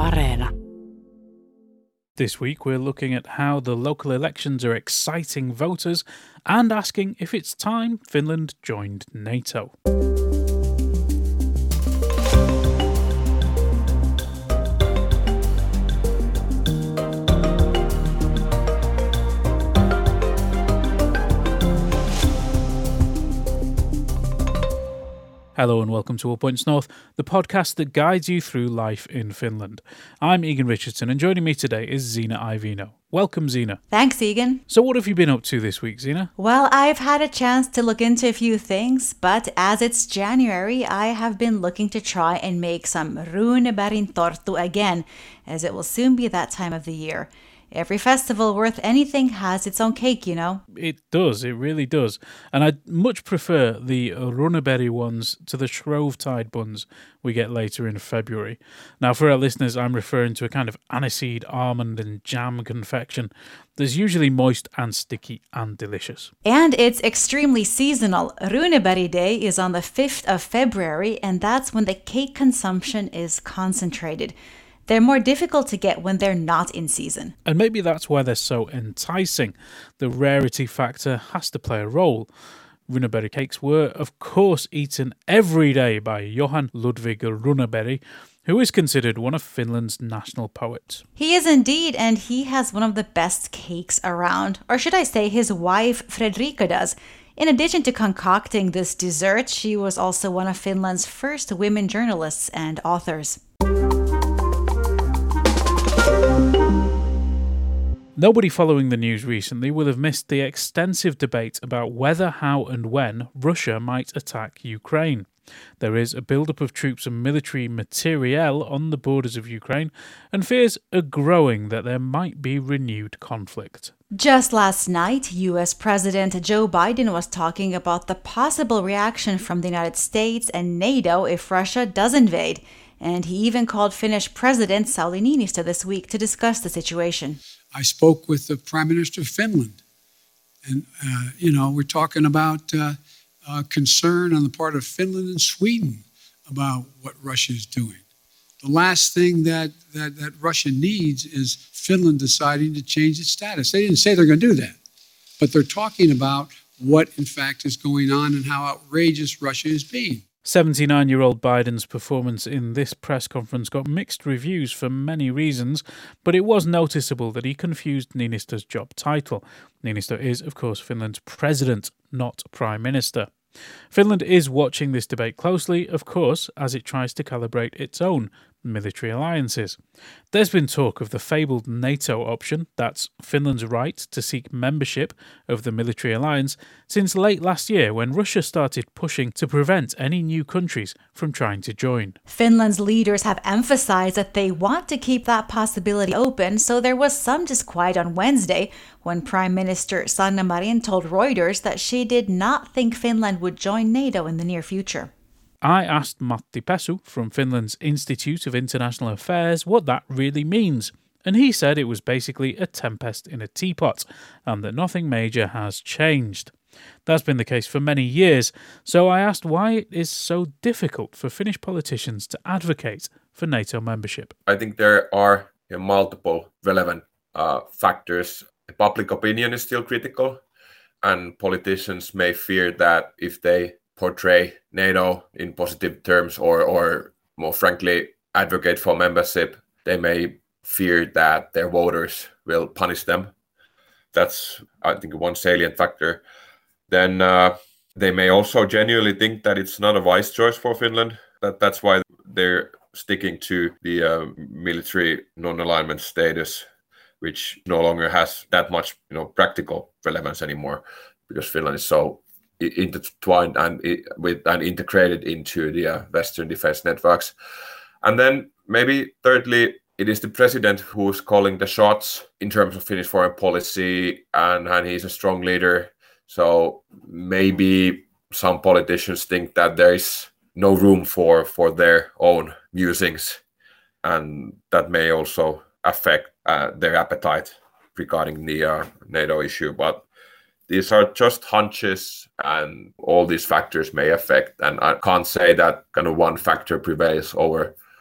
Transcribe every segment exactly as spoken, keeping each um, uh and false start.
Areena. This week we're looking at how the local elections are exciting voters and asking if it's time Finland joined NATO. Hello and welcome to All Points North, the podcast that guides you through life in Finland. I'm Egan Richardson and joining me today is Zena Ivino. Welcome, Zena. Thanks, Egan. So what have you been up to this week, Zena? Well, I've had a chance to look into a few things, but as it's January, I have been looking to try and make some Runebergin torttu again, as it will soon be that time of the year. Every festival worth anything has its own cake, you know. It does, it really does. And I much prefer the Runeberg ones to the Shrovetide buns we get later in February. Now, for our listeners, I'm referring to a kind of aniseed, almond and jam confection that's usually moist and sticky and delicious. And it's extremely seasonal. Runeberg Day is on the fifth of February, and that's when the cake consumption is concentrated. They're more difficult to get when they're not in season. And maybe that's why they're so enticing. The rarity factor has to play a role. Runeberg cakes were, of course, eaten every day by Johan Ludvig Runeberg, who is considered one of Finland's national poets. He is indeed, and he has one of the best cakes around. Or should I say his wife, Fredrika, does. In addition to concocting this dessert, she was also one of Finland's first women journalists and authors. Nobody following the news recently will have missed the extensive debate about whether, how and when Russia might attack Ukraine. There is a build-up of troops and military materiel on the borders of Ukraine, and fears are growing that there might be renewed conflict. Just last night, U S President Joe Biden was talking about the possible reaction from the United States and NATO if Russia does invade. And he even called Finnish President Sauli Niinistö this week to discuss the situation. I spoke with the Prime Minister of Finland. And, uh, you know, we're talking about uh, uh, concern on the part of Finland and Sweden about what Russia is doing. The last thing that, that, that Russia needs is Finland deciding to change its status. They didn't say they're going to do that. But they're talking about what, in fact, is going on and how outrageous Russia is being. seventy-nine-year-old Biden's performance in this press conference got mixed reviews for many reasons, but it was noticeable that he confused Niinistö's job title. Niinistö is, of course, Finland's president, not prime minister. Finland is watching this debate closely, of course, as it tries to calibrate its own military alliances. There's been talk of the fabled NATO option, that's Finland's right to seek membership of the military alliance, since late last year when Russia started pushing to prevent any new countries from trying to join. Finland's leaders have emphasized that they want to keep that possibility open, so there was some disquiet on Wednesday when Prime Minister Sanna Marin told Reuters that she did not think Finland would join NATO in the near future. I asked Matti Pesu from Finland's Institute of International Affairs what that really means, and he said it was basically a tempest in a teapot, and that nothing major has changed. That's been the case for many years, so I asked why it is so difficult for Finnish politicians to advocate for NATO membership. I think there are you know, multiple relevant uh, factors. Public opinion is still critical, and politicians may fear that if they portray NATO in positive terms or, or more frankly, advocate for membership, they may fear that their voters will punish them. That's, I think, one salient factor. Then uh, they may also genuinely think that it's not a wise choice for Finland. That That's why they're sticking to the uh, military non-alignment status, which no longer has that much you know, practical relevance anymore because Finland is so intertwined and with and integrated into the uh, Western defense networks. And then maybe thirdly, it is the president who's calling the shots in terms of Finnish foreign policy, and, and he's a strong leader. So maybe some politicians think that there is no room for, for their own musings, and that may also affect uh, their appetite regarding the uh, NATO issue. But these are just hunches, and all these factors may affect, and I can't say that kind of one factor prevails over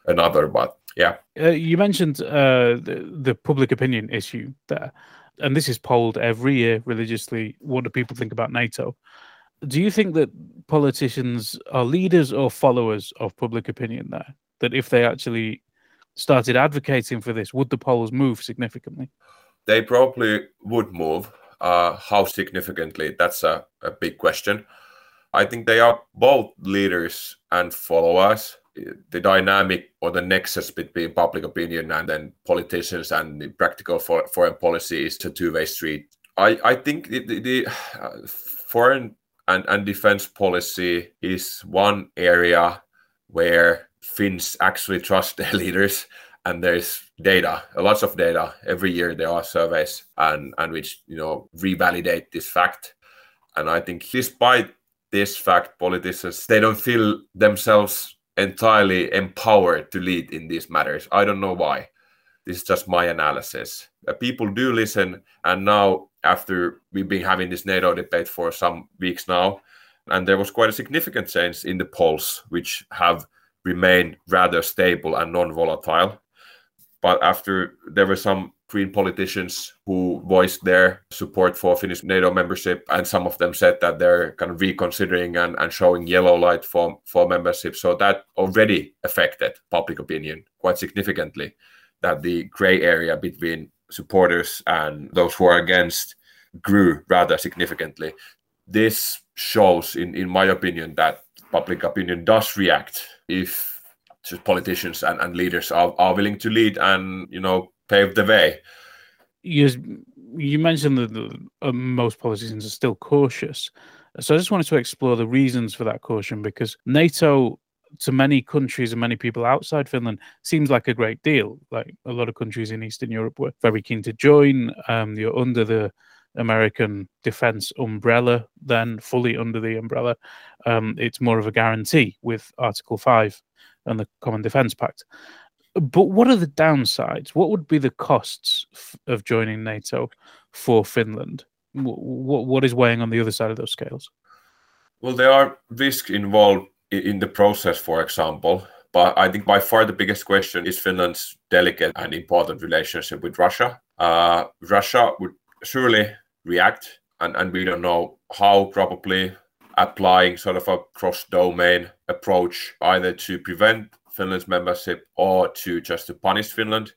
another. But yeah. Uh, you mentioned uh, the, the public opinion issue there, and this is polled every year religiously. What do people think about NATO? Do you think that politicians are leaders or followers of public opinion there? That if they actually started advocating for this, would the polls move significantly? They probably would move. Uh, how significantly? That's a, a big question. I think they are both leaders and followers. The dynamic or the nexus between public opinion and then politicians and the practical for, foreign policy is a two-way street. I, I think the, the, the uh, foreign and, and defense policy is one area where Finns actually trust their leaders, and there's data, lots of data. Every year there are surveys and, and which, you know, revalidate this fact. And I think despite this fact, politicians, they don't feel themselves entirely empowered to lead in these matters. I don't know why. This is just my analysis. Uh, people do listen, and now after we've been having this NATO debate for some weeks now, and there was quite a significant change in the polls, which have remained rather stable and non-volatile. But after there were some Green politicians who voiced their support for Finnish NATO membership, and some of them said that they're kind of reconsidering and, and showing yellow light for, for membership. So that already affected public opinion quite significantly, that the gray area between supporters and those who are against grew rather significantly. This shows, in, in my opinion, that public opinion does react if politicians and, and leaders are, are willing to lead and, you know, pave the way. You, you mentioned that the, uh, most politicians are still cautious. So I just wanted to explore the reasons for that caution, because NATO, to many countries and many people outside Finland, seems like a great deal. Like a lot of countries in Eastern Europe were very keen to join. Um, you're under the American defense umbrella, then fully under the umbrella. Um, it's more of a guarantee with Article five and the Common Defence Pact. But what are the downsides? What would be the costs f- of joining NATO for Finland? W- what is weighing on the other side of those scales? Well, there are risks involved in the process, for example. But I think by far the biggest question is Finland's delicate and important relationship with Russia. Uh, Russia would surely react, and, and we don't know how, probably applying sort of a cross-domain approach, either to prevent Finland's membership or to just to punish Finland.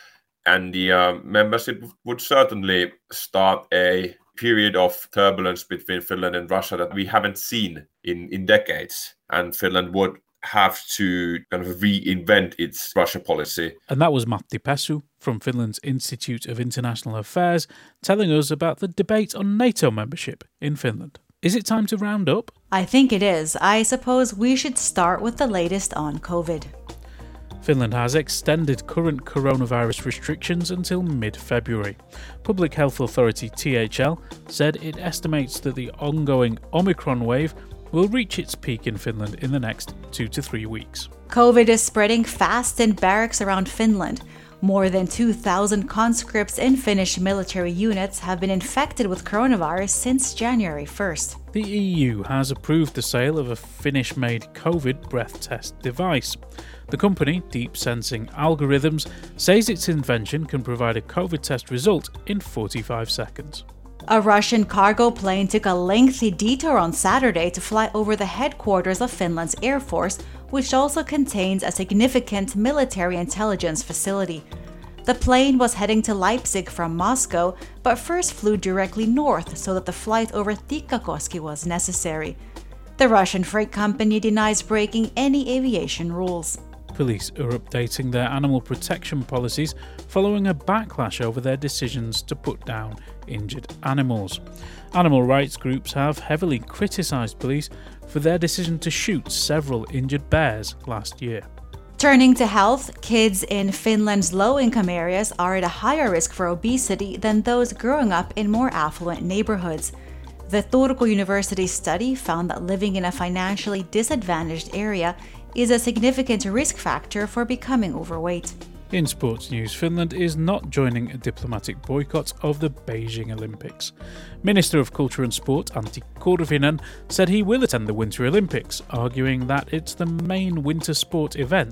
And the uh, membership would certainly start a period of turbulence between Finland and Russia that we haven't seen in, in decades. And Finland would have to kind of reinvent its Russia policy. And that was Matti Pesu from Finland's Institute of International Affairs telling us about the debate on NATO membership in Finland. Is it time to round up? I think it is. I suppose we should start with the latest on COVID. Finland has extended current coronavirus restrictions until mid-February. Public Health Authority T H L said it estimates that the ongoing Omicron wave will reach its peak in Finland in the next two to three weeks. COVID is spreading fast in barracks around Finland. More than two thousand conscripts in Finnish military units have been infected with coronavirus since January first. The E U has approved the sale of a Finnish-made COVID breath test device. The company, Deep Sensing Algorithms, says its invention can provide a COVID test result in forty-five seconds. A Russian cargo plane took a lengthy detour on Saturday to fly over the headquarters of Finland's Air Force, which also contains a significant military intelligence facility. The plane was heading to Leipzig from Moscow, but first flew directly north so that the flight over Tikkakoski was necessary. The Russian freight company denies breaking any aviation rules. Police are updating their animal protection policies following a backlash over their decisions to put down injured animals. Animal rights groups have heavily criticised police for their decision to shoot several injured bears last year. Turning to health, kids in Finland's low-income areas are at a higher risk for obesity than those growing up in more affluent neighborhoods. The Turku University study found that living in a financially disadvantaged area is a significant risk factor for becoming overweight. In sports news, Finland is not joining a diplomatic boycott of the Beijing Olympics. Minister of Culture and Sport Antti Kurvinen said he will attend the Winter Olympics, arguing that it's the main winter sport event for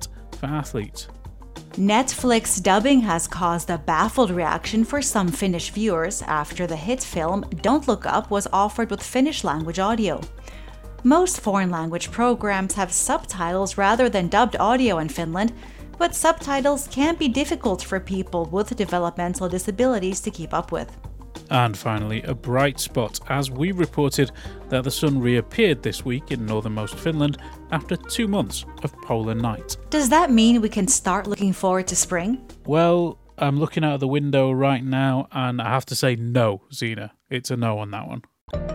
for athletes. Netflix dubbing has caused a baffled reaction for some Finnish viewers after the hit film Don't Look Up was offered with Finnish language audio. Most foreign language programs have subtitles rather than dubbed audio in Finland, but subtitles can be difficult for people with developmental disabilities to keep up with. And finally, a bright spot, as we reported that the sun reappeared this week in northernmost Finland after two months of polar night. Does that mean we can start looking forward to spring? Well, I'm looking out of the window right now, and I have to say no, Zena. It's a no on that one.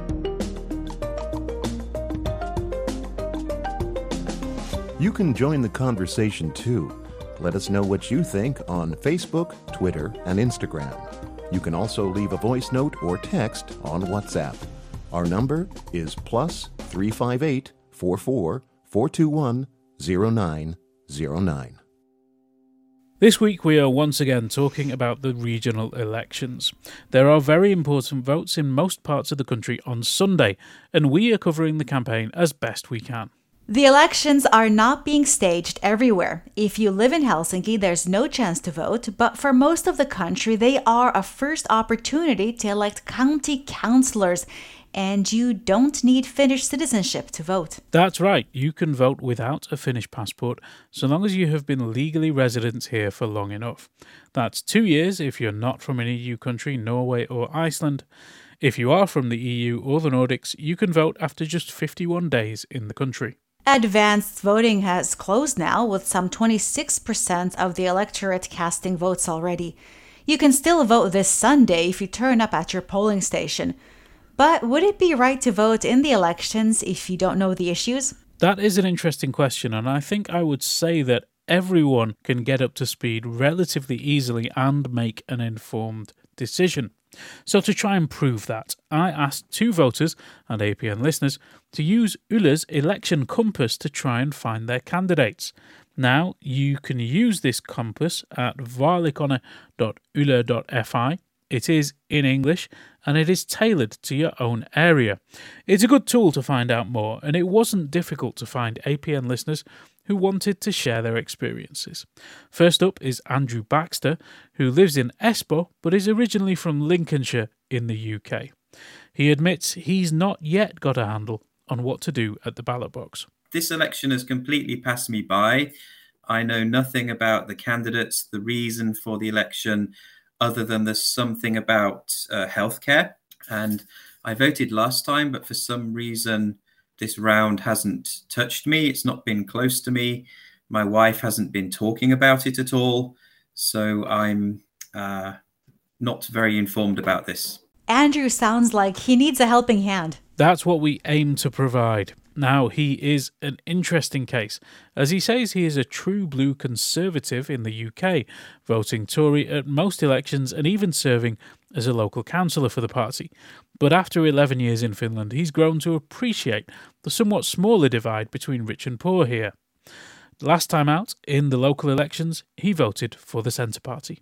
You can join the conversation too. Let us know what you think on Facebook, Twitter, and Instagram. You can also leave a voice note or text on WhatsApp. Our number is plus three five eight, four four, four two one, zero nine zero nine. This week we are once again talking about the regional elections. There are very important votes in most parts of the country on Sunday, and we are covering the campaign as best we can. The elections are not being staged everywhere. If you live in Helsinki, there's no chance to vote, but for most of the country, they are a first opportunity to elect county councillors, and you don't need Finnish citizenship to vote. That's right, you can vote without a Finnish passport, so long as you have been legally resident here for long enough. That's two years if you're not from an E U country, Norway or Iceland. If you are from the E U or the Nordics, you can vote after just fifty-one days in the country. Advanced voting has closed now, with some twenty-six percent of the electorate casting votes already. You can still vote this Sunday if you turn up at your polling station. But would it be right to vote in the elections if you don't know the issues? That is an interesting question, and I think I would say that everyone can get up to speed relatively easily and make an informed decision. So to try and prove that, I asked two voters and A P N listeners to use Yle's election compass to try and find their candidates. Now, you can use this compass at vaalikone dot yle dot fi. It is in English and it is tailored to your own area. It's a good tool to find out more, and it wasn't difficult to find A P N listeners who wanted to share their experiences. First up is Andrew Baxter, who lives in Espoo but is originally from Lincolnshire in the U K. He admits he's not yet got a handle on what to do at the ballot box. This election has completely passed me by. I know nothing about the candidates, the reason for the election, other than there's something about uh, healthcare. And I voted last time, but for some reason, this round hasn't touched me. It's not been close to me. My wife hasn't been talking about it at all. So I'm uh, not very informed about this. Andrew sounds like he needs a helping hand. That's what we aim to provide. Now, he is an interesting case, as he says he is a true blue Conservative in the U K, voting Tory at most elections and even serving as a local councillor for the party. But after eleven years in Finland, he's grown to appreciate the somewhat smaller divide between rich and poor here. Last time out, in the local elections, he voted for the Centre Party.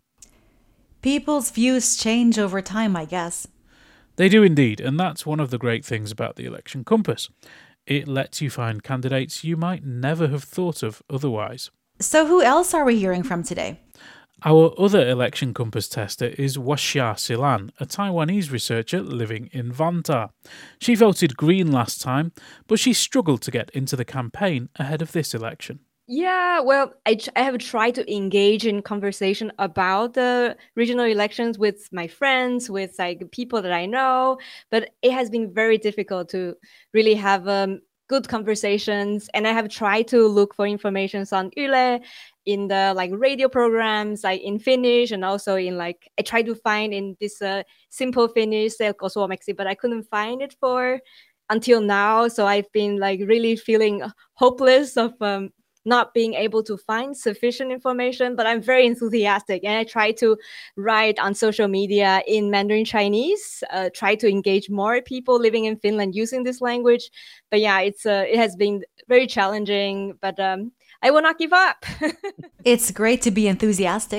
People's views change over time, I guess. They do indeed, and that's one of the great things about the election compass. It lets you find candidates you might never have thought of otherwise. So who else are we hearing from today? Our other election compass tester is Washia Silan, a Taiwanese researcher living in Vantaa. She voted Green last time, but she struggled to get into the campaign ahead of this election. Yeah, well, I, I have tried to engage in conversation about the regional elections with my friends, with like people that I know, but it has been very difficult to really have um, good conversations. And I have tried to look for information on Yle, in the like radio programs, like in Finnish, and also in like, I tried to find in this uh, simple Finnish, selko suomeksi, but I couldn't find it for until now. So I've been like really feeling hopeless of um, not being able to find sufficient information, but I'm very enthusiastic. And I try to write on social media in Mandarin Chinese, uh, try to engage more people living in Finland using this language. But yeah, it's uh, it has been very challenging, but um, I will not give up. It's great to be enthusiastic.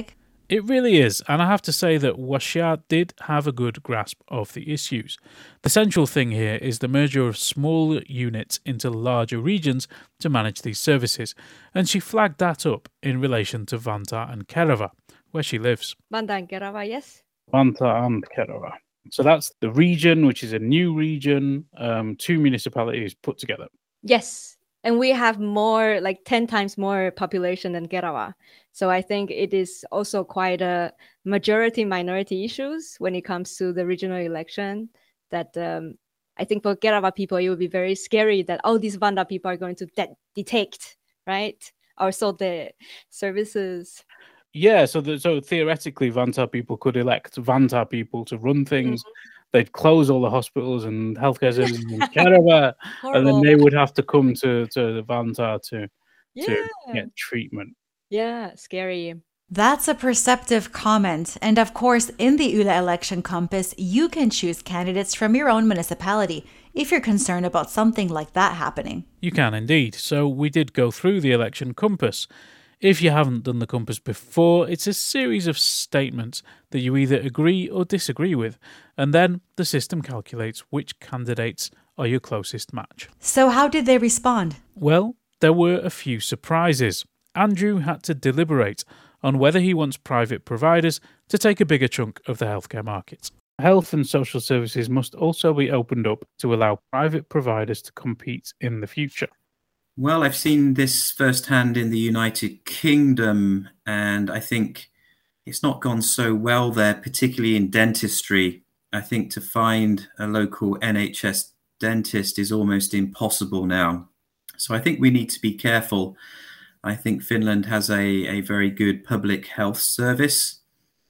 It really is, and I have to say that Waxia did have a good grasp of the issues. The central thing here is the merger of small units into larger regions to manage these services, and she flagged that up in relation to Vantaa and Kerava, where she lives. Vantaa and Kerava, yes. Vantaa and Kerava. So that's the region, which is a new region, um, two municipalities put together. Yes. And we have more, like ten times more population than Kerava. So I think it is also quite a majority-minority issues when it comes to the regional election. That um, I think for Kerava people, it would be very scary that, oh, these Vantaa people are going to de- detect, right? Also the services. Yeah, so the, so theoretically, Vantaa people could elect Vantaa people to run things. Mm-hmm. They'd close all the hospitals and healthcare services in Kerava, and then they would have to come to, to Vantaa to, yeah. to get treatment. Yeah, scary. That's a perceptive comment. And of course, in the Yle election compass, you can choose candidates from your own municipality if you're concerned about something like that happening. You can indeed. So we did go through the election compass. If you haven't done the compass before, it's a series of statements that you either agree or disagree with, and then the system calculates which candidates are your closest match. So how did they respond? Well, there were a few surprises. Andrew had to deliberate on whether he wants private providers to take a bigger chunk of the healthcare market. Health and social services must also be opened up to allow private providers to compete in the future. Well, I've seen this firsthand in the United Kingdom, and I think it's not gone so well there, particularly in dentistry. I think to find a local N H S dentist is almost impossible now. So I think we need to be careful. I think Finland has a, a very good public health service,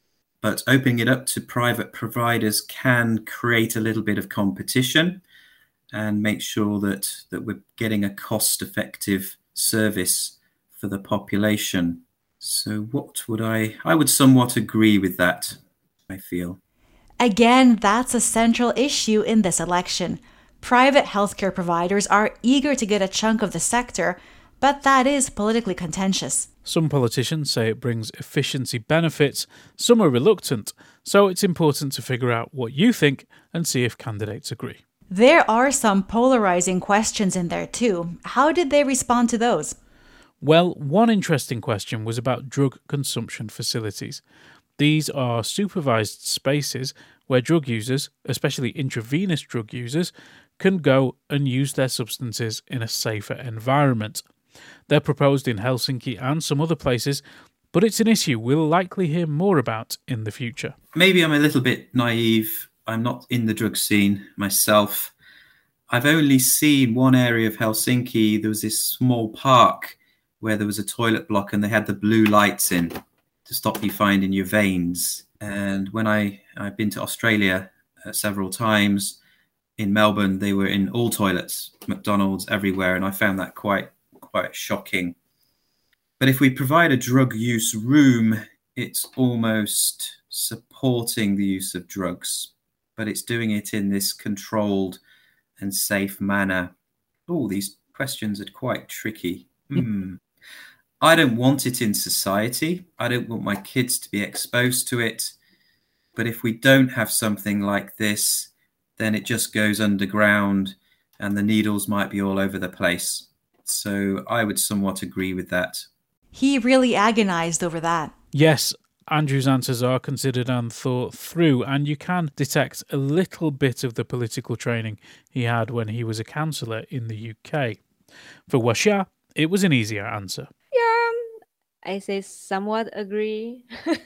but opening it up to private providers can create a little bit of competition and make sure that, that we're getting a cost-effective service for the population. So what would I... I would somewhat agree with that, I feel. Again, that's a central issue in this election. Private healthcare providers are eager to get a chunk of the sector, but that is politically contentious. Some politicians say it brings efficiency benefits, some are reluctant, so it's important to figure out what you think and see if candidates agree. There are some polarizing questions in there too. How did they respond to those? Well, one interesting question was about drug consumption facilities. These are supervised spaces where drug users, especially intravenous drug users, can go and use their substances in a safer environment. They're proposed in Helsinki and some other places, but it's an issue we'll likely hear more about in the future. Maybe I'm a little bit naive. I'm not in the drug scene myself. I've only seen one area of Helsinki. There was this small park where there was a toilet block and they had the blue lights in to stop you finding your veins. And when I, I've been to Australia uh, several times, in Melbourne, they were in all toilets, McDonald's everywhere, and I found that quite quite shocking. But if we provide a drug use room, it's almost supporting the use of drugs, but it's doing it in this controlled and safe manner. Oh, these questions are quite tricky. Hmm. I don't want it in society. I don't want my kids to be exposed to it. But if we don't have something like this, then it just goes underground and the needles might be all over the place. So I would somewhat agree with that. He really agonized over that. Yes, Andrew's answers are considered and thought through, and you can detect a little bit of the political training he had when he was a councillor in the U K. For Waxia, it was an easier answer. Yeah, I say somewhat agree.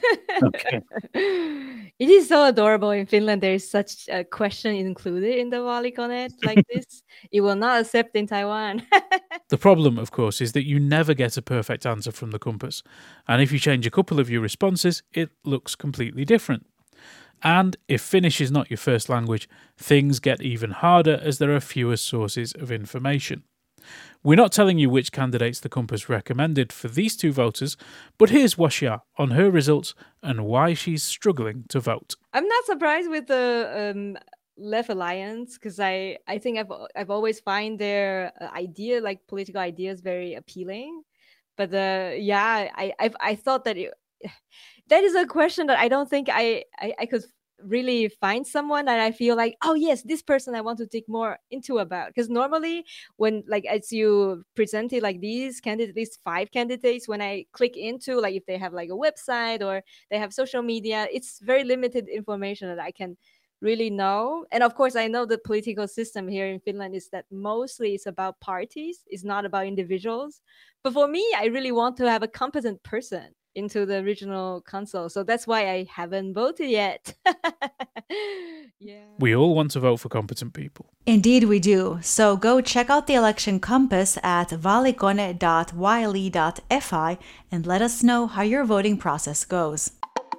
Okay. It is so adorable in Finland. There is such a question included in the Vaalikoneet like this. It will not accept in Taiwan. The problem, of course, is that you never get a perfect answer from the compass. And if you change a couple of your responses, it looks completely different. And if Finnish is not your first language, things get even harder as there are fewer sources of information. We're not telling you which candidates the compass recommended for these two voters, but here's Waxia on her results and why she's struggling to vote. I'm not surprised with the um, Left Alliance because I, I think I've I've always find their idea, like political ideas, very appealing. But uh, yeah, I I've, I thought that it, that is a question that I don't think I, I, I could really find someone that I feel like, oh yes, this person I want to dig more into about. Because normally when like as you presented like these candidates, these five candidates, when I click into like if they have like a website or they have social media, it's very limited information that I can really know. And of course, I know the political system here in Finland is that mostly it's about parties, it's not about individuals. But for me, I really want to have a competent person into the regional council. So that's why I haven't voted yet. Yeah. We all want to vote for competent people. Indeed, we do. So go check out the election compass at vaalikone dot y l e dot f i and let us know how your voting process goes.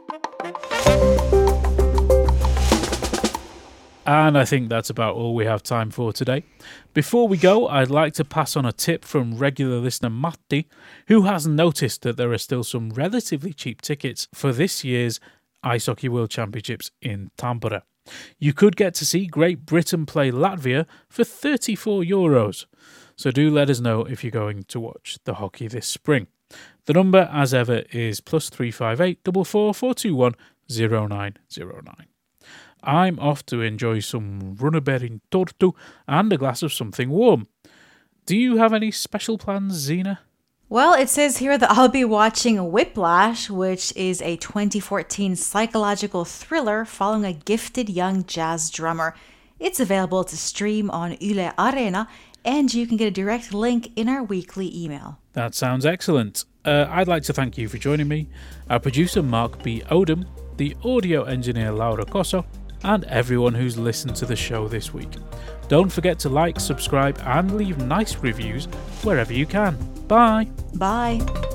And I think that's about all we have time for today. Before we go, I'd like to pass on a tip from regular listener Matti, who has noticed that there are still some relatively cheap tickets for this year's Ice Hockey World Championships in Tampere. You could get to see Great Britain play Latvia for thirty-four euros. So do let us know if you're going to watch the hockey this spring. The number, as ever, is plus three five eight four four four two one zero nine zero nine. I'm off to enjoy some runeberg tortu and a glass of something warm. Do you have any special plans, Zena? Well, it says here that I'll be watching Whiplash, which is a twenty fourteen psychological thriller following a gifted young jazz drummer. It's available to stream on Yle Areena, and you can get a direct link in our weekly email. That sounds excellent. Uh, I'd like to thank you for joining me, our producer Mark B. Odom, the audio engineer Laura Cosso, and everyone who's listened to the show this week. Don't forget to like, subscribe, and leave nice reviews wherever you can. Bye! Bye!